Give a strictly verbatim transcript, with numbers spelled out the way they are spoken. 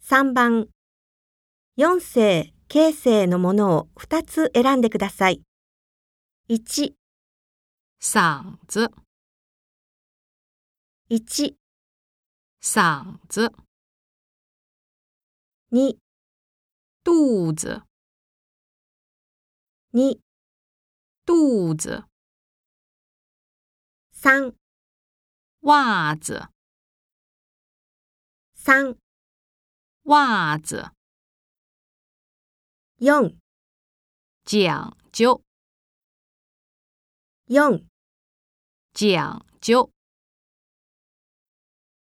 さんばん、よん世、形成のものをふたつ選んでください。いち、 嗓子、 いち、 嗓子、 に、 肚子、 に、 肚子、 さん、 袜子、 さん、 袜子、 よん、 讲究、 よん、 講究。